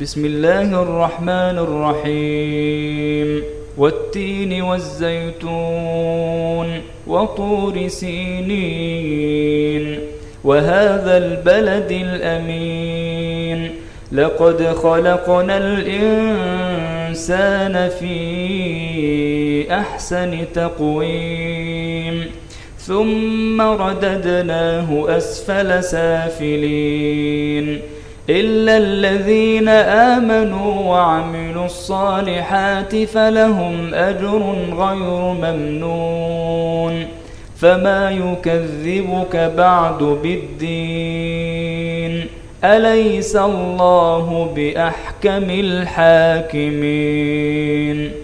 بسم الله الرحمن الرحيم والتين والزيتون وطور سينين وهذا البلد الأمين لقد خلقنا الإنسان في أحسن تقويم ثم رددناه أسفل سافلين إلا الذين آمنوا وعملوا الصالحات فلهم أجر غير ممنون فما يكذبك بعد بالدين أليس الله بأحكم الحاكمين